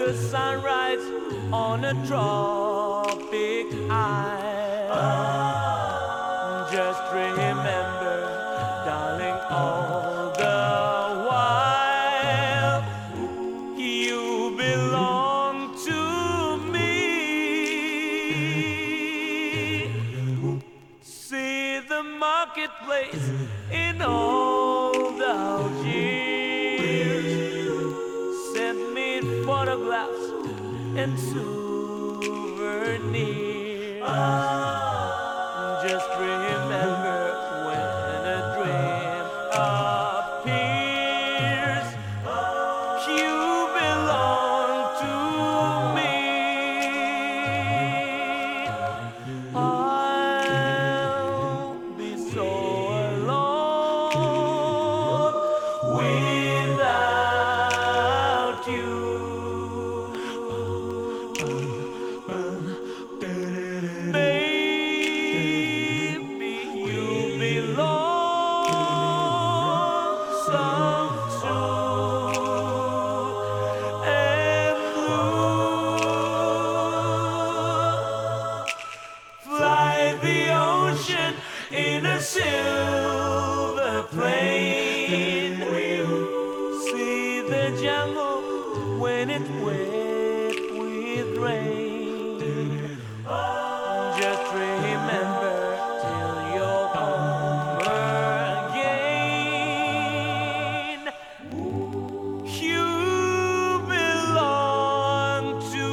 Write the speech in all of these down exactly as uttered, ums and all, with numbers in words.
the sunrise on a tropic isle. Just remember, darling, all the while you belong to me. See the marketplace in old Algiers. Send me photographs and souvenirs. Just remember when a dream appears, you belong to me. I'll be so alone without you. Baby, you belong some true and blue. Fly the ocean in a silver plane. See the jungle when it's wet with rain. Just remember till you're home again, you belong to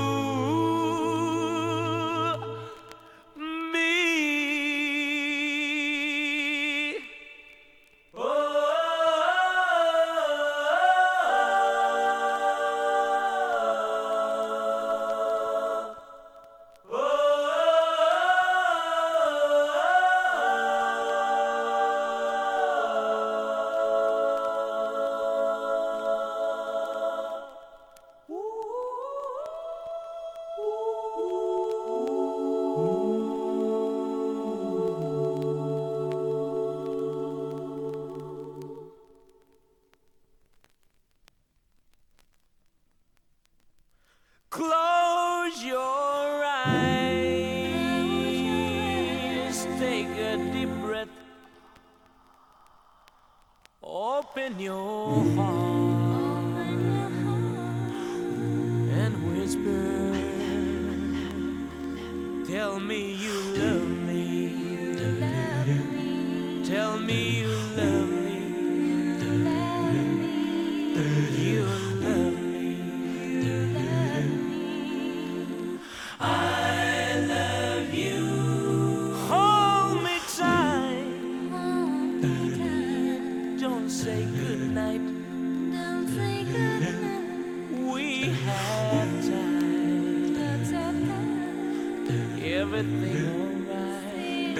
me. Close your eyes, take a deep breath, open your heart and whisper, tell me you love me, tell me you love me, you love me. I love you. Hold me tight. Don't say goodnight. We have time. Everything alright.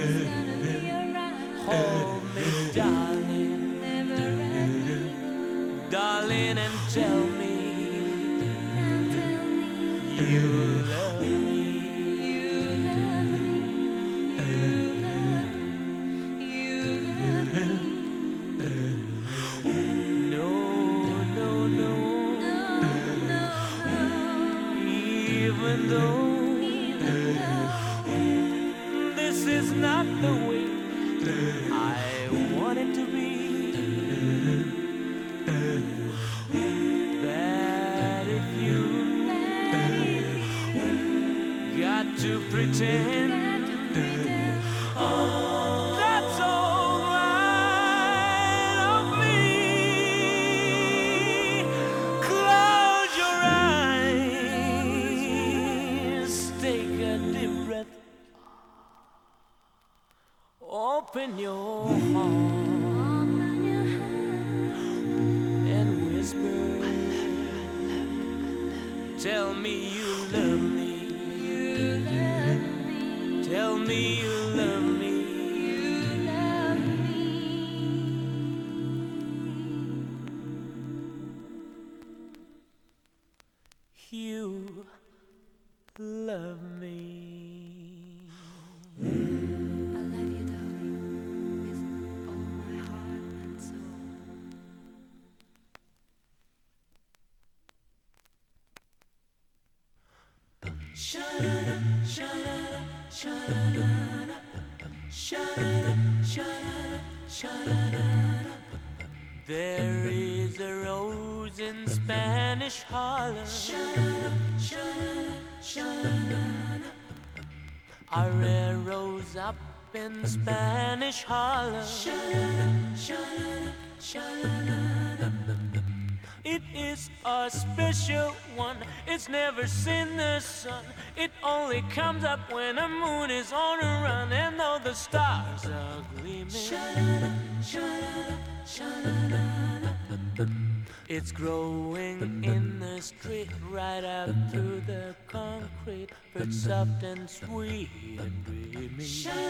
Hold me, darling, darling, and tell me you love me. No, no, no. Even though this is not the way I want it to be, that if you got to pretend, oh, that's all right of me. Close your eyes, take a deep breath, open your heart and whisper, tell me you love me. Tell me you love me. You love me. I love you, darling, with all my heart and soul. There is a rose in Spanish Harlem. A rare rose up in Spanish Harlem. It is a special one. It's never seen the sun. It only comes up when the moon is on a run. And though the stars are gleaming, it's growing in the street, right out through the concrete, but soft and sweet and dreamy.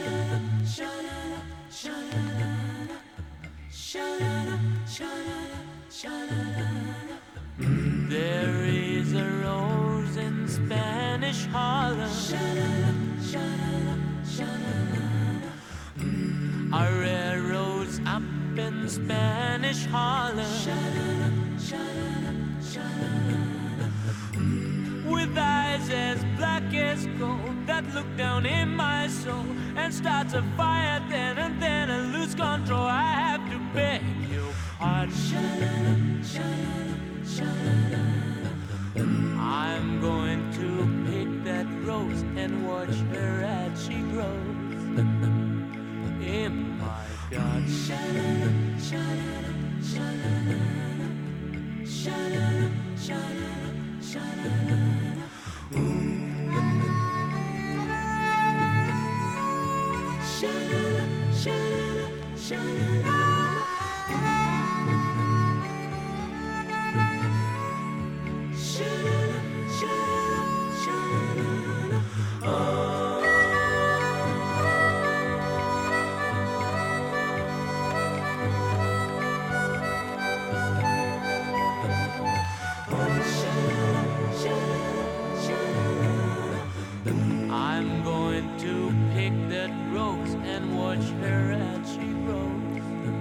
There is a rose in Spanish Harlem. A rare rose up in Spanish Harlem. With eyes as black as gold that look down in my soul and starts a fire then and then and lose control. I have to beg your pardon. I'm going to pick that rose and watch her as she grows in my garden. I'm going to pick that rose and watch her as she grows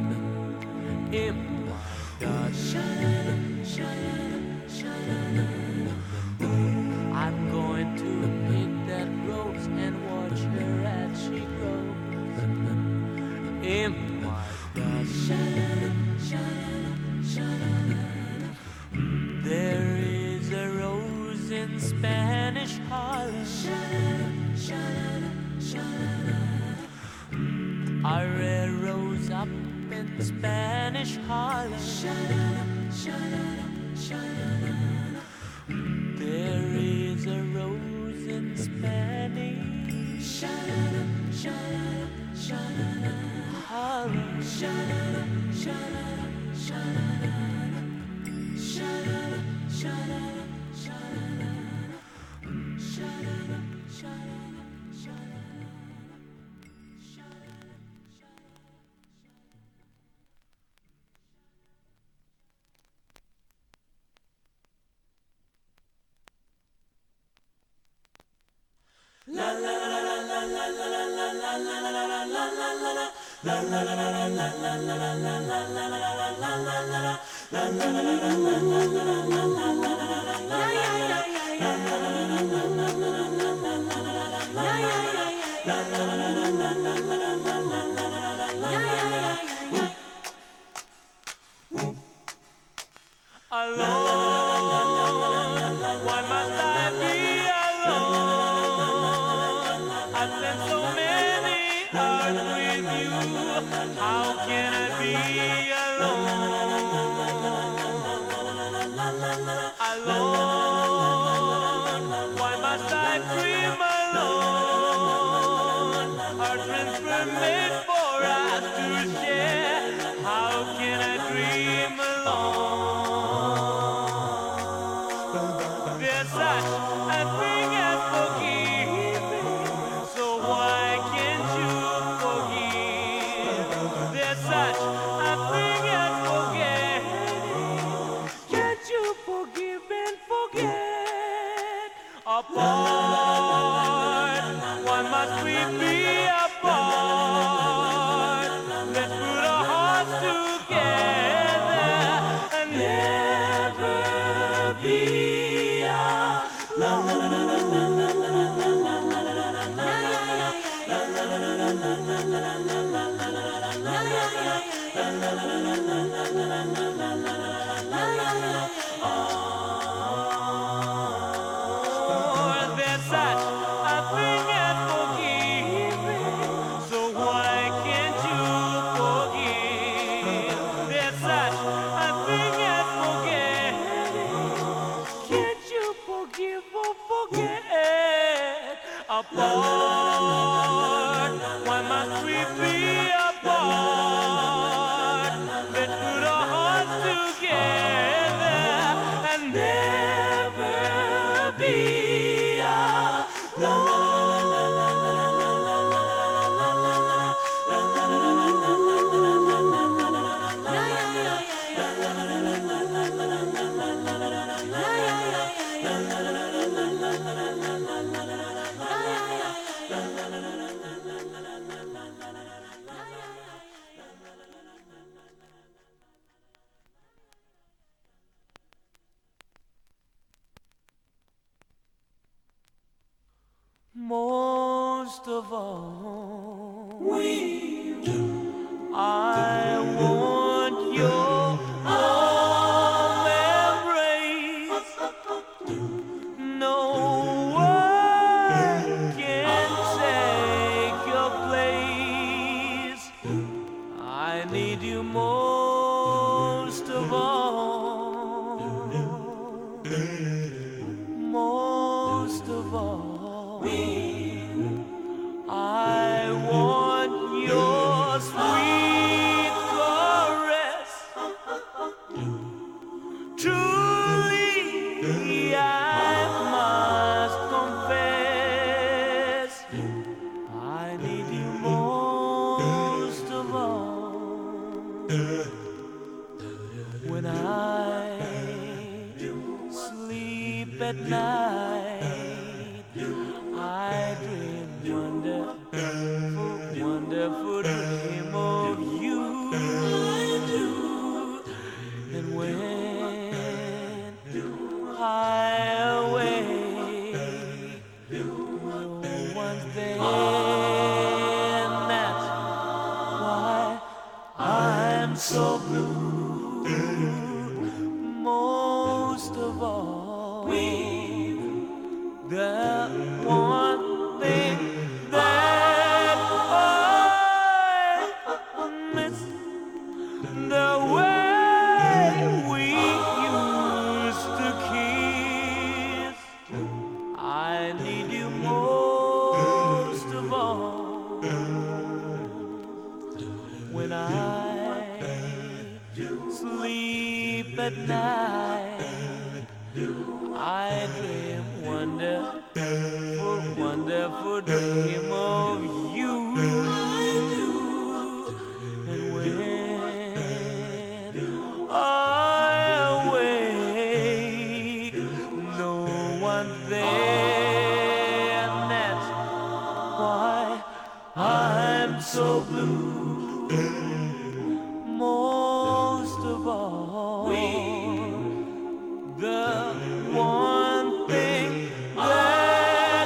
in my garden. I'm going to pick that rose and watch her as she grows in my garden. There is a rose in Spanish Harlem. A rare rose up in Spanish Harlem. There is a rose in Spanish Harlem. Alone, why must I be alone? I spent so many hours with you. How can I be alone? Alone, why must I dream alone? Our dreams were made for us to share. How can I dream alone? There's such a thing as forgiving, so why can't you forgive? There's such a thing as forgetting. Can't you forgive and forget? Apart, why must we be apart? Let's put our hearts together and never be alone. most of all, we do. I want your warm embrace. No one can take your place. I need you most of all. Most of all, I want your sweet caress. Truly, I must confess, I need you most of all. When I sleep at night, I dream wonderful, wonderful dream of you. And when I awake, no one's there, and that's why I'm so blue. Most of all, the one thing that I miss, the way we used to kiss. I need you most of all. When I sleep at night, I dream wonderful, wonderful dream of you. And when I awake, no one's there, and that's why I'm so blue. Most of all, the one thing that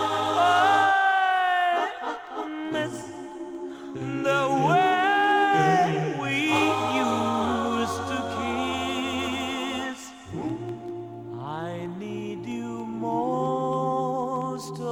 I miss, the way we used to kiss. I need you most of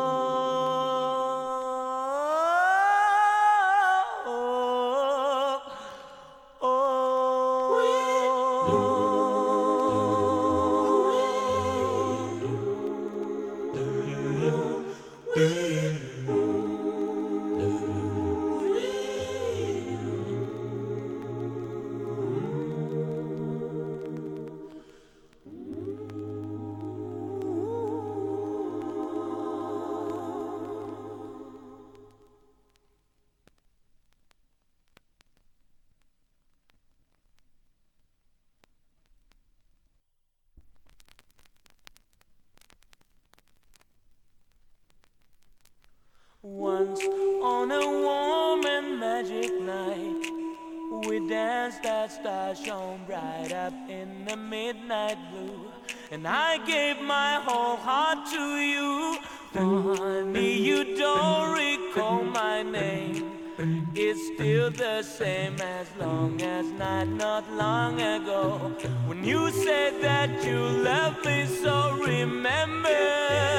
Once on a warm and magic night, we danced that star shone bright up in the midnight blue. And I gave my whole heart to you. Funny you don't recall my name. It's still the same as long as night not long ago, when you said that you loved me. So remember,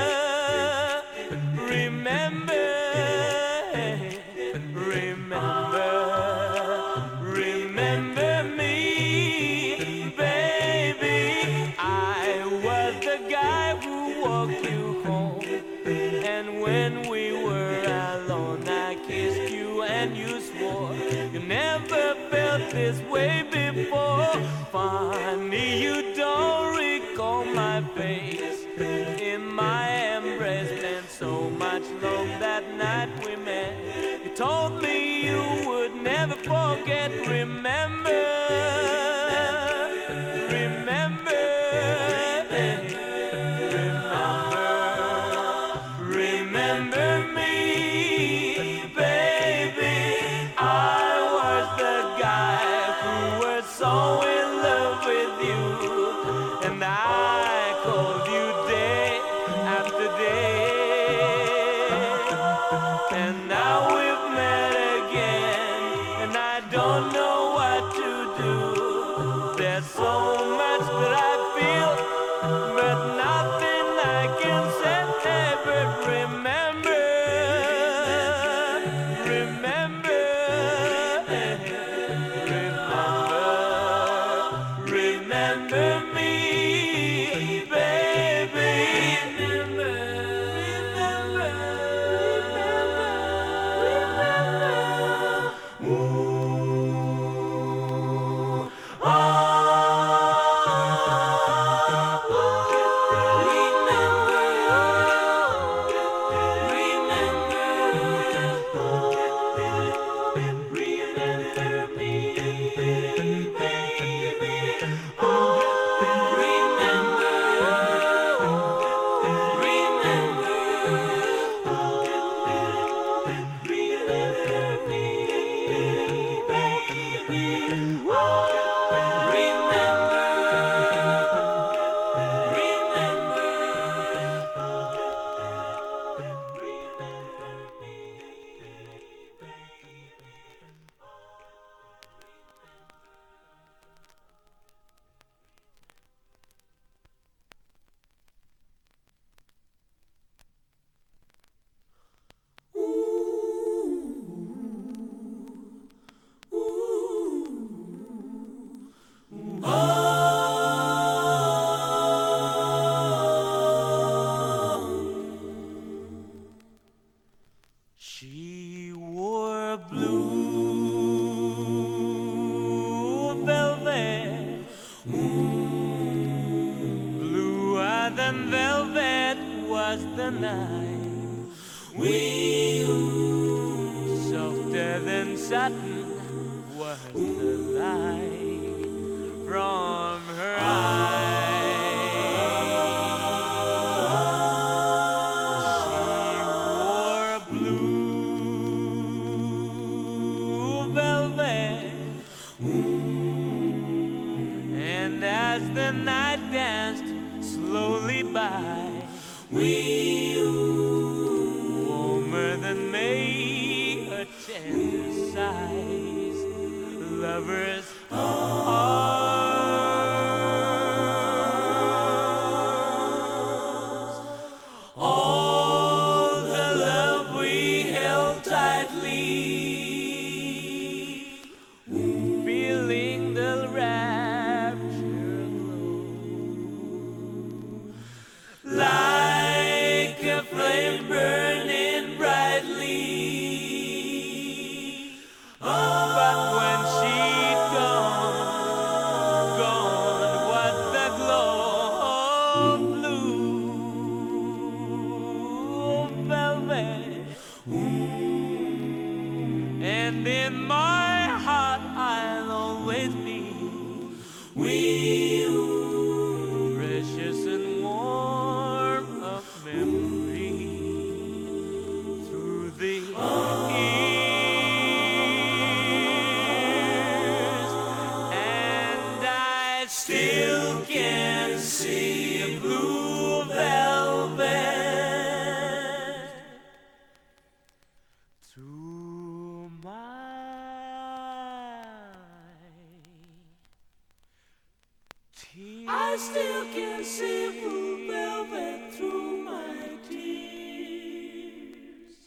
remember, remember, remember me, baby. I was the guy who walked you home, and when we were alone, I kissed you and you swore you never felt this way before. Funny you don't recall my face in my embrace. Meant so much love that night we met. You told me you would never forget. Remember, remember, remember, remember me, baby. I was the guy who was so in love with you, and I called you day after day. than velvet was the night. We softer than satin was the light from her eyes. She wore a blue velvet, and as the night danced slowly by, we warmer than May, her tender sighs, lovers arms. All the love we held tightly, feeling the rapture glow, like a flame burning brightly. But when she'd gone, gone was the glow of blue velvet. And in my heart I'll always be with you, precious and warm of memory, through the years. And I still can see a blue velvet through my tears. I still can see blue velvet through my tears.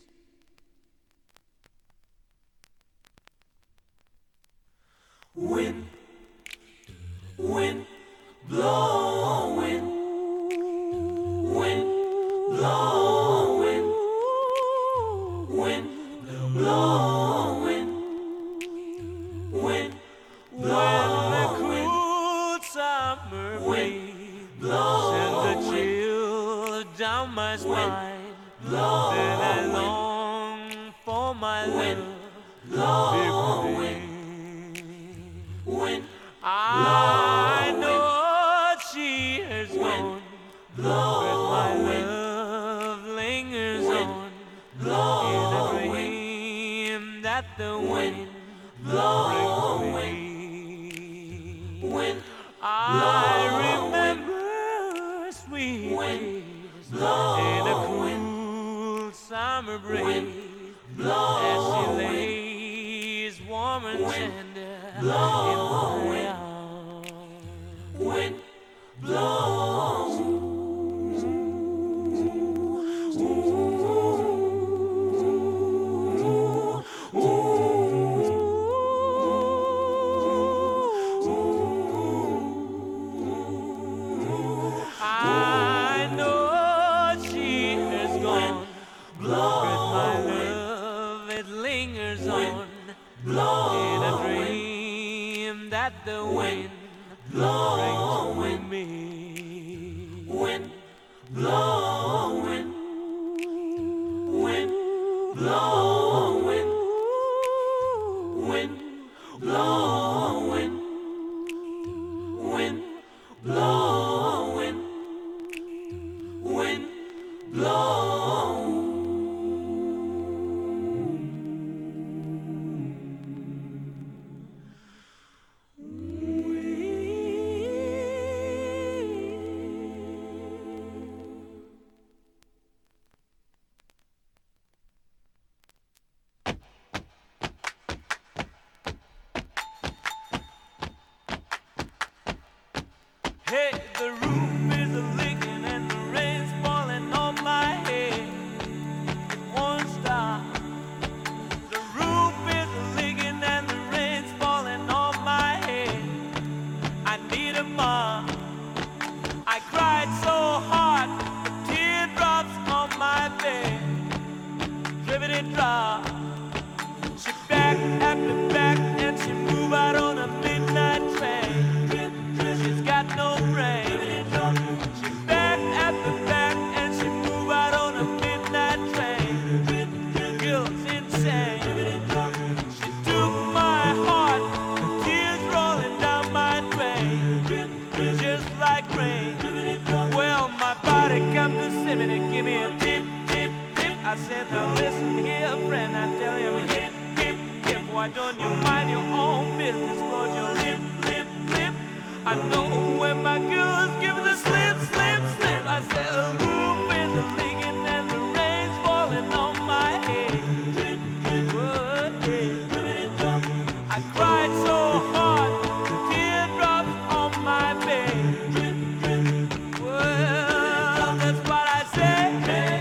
Wind, wind, blowing, wind, blowing, wind, blowing, wind, blowing. The cool summer breeze sends a chill down my spine. Then I long for my love. When I know she has gone, but my love lingers on in a dream that the wind brings me. I remember sweet days in a cool summer breeze as she lays warm and tender in my arms. Wind blows. I know she has gone, but my love, it lingers on in a dream that the wind brings with me. Wind blowing, wind blowing, wind blowing, wind blowing, wind blowing. Hey, the roof is a leaking and the rain's falling on my head. It won't stop. The roof is a leaking and the rain's falling on my head. I need a mom. I cried so hard, teardrops on my bed. Drippity drop. She back after back and she move out on a midnight train. She's got no brain. She back slimming and give me a tip, tip, tip. I said, now listen here, friend, I tell you, hip, hip, hip. Why don't you mind your own business? Close your lip, lip, lip. I know when my girls give the slip, slip, slip. I said, the roof is leaking and the rain's falling on my head. Whoa, yeah. I cried so hard, teardrops on my bed. Well, that's what I said.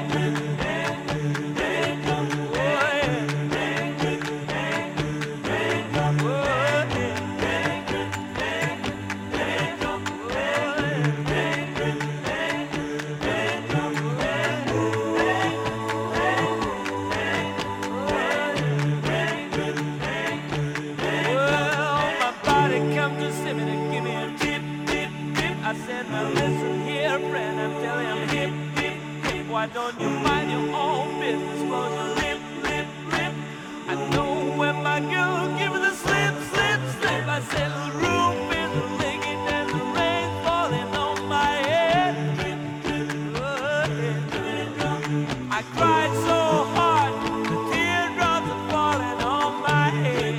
Why don't you mind your own business? Close your lip, lip, lip. I know when my girl gives the slip, slip, slip. I said the roof is leaking and the rain's falling on my head. Oh, yeah. I cried so hard, the teardrops are falling on my head.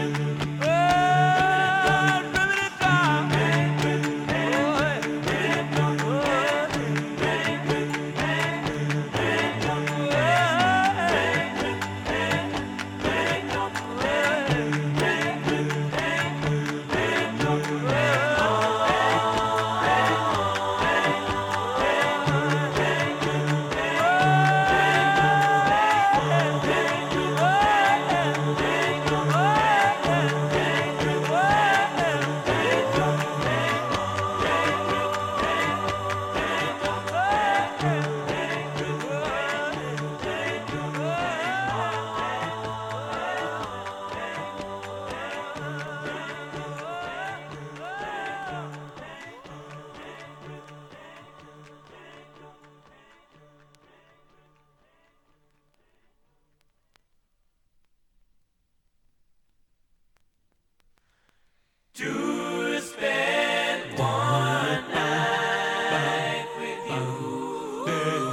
To spend one night with you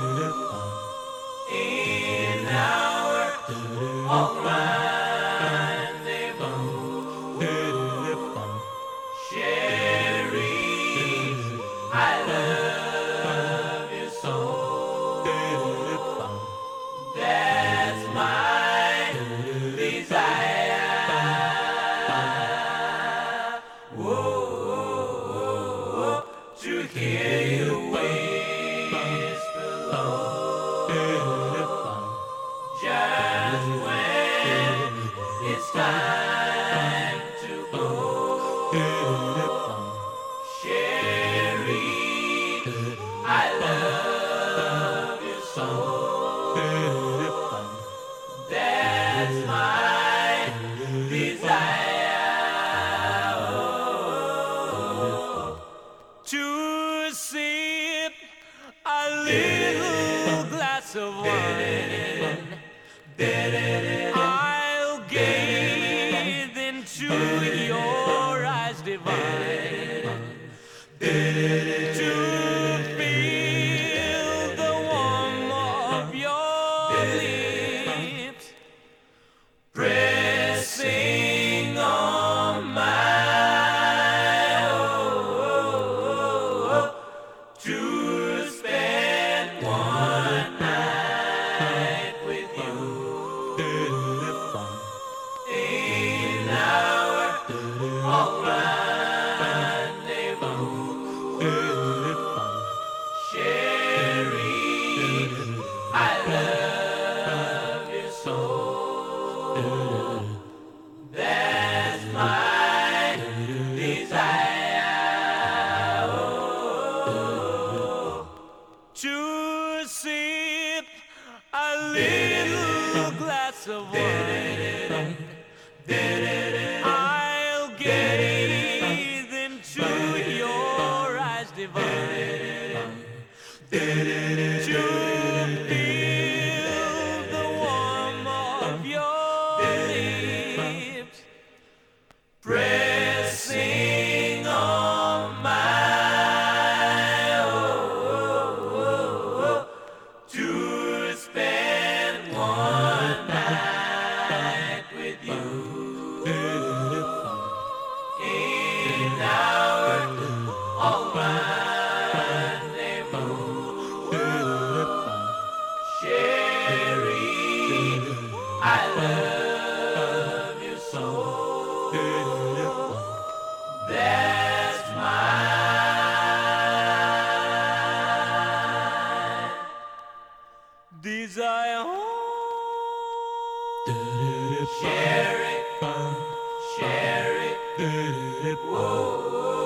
in our own rendezvous, Sherry, I love you so. That's my desire. To hear you whisper low, just when it's time to go. Sherry, I love you so. That's my desire. To sip a little glass of wine, I'll gaze into your eyes divine, to feel the warmth of your lips pressing on mine. To spend one night with you in our own rendezvous, Sherry, I love you so. That's my desire. To sip a little glass of wine, I'll gaze into your eyes divine, to feel the warmth of your lips pressing on mine. desire. Share it, share it, whoa.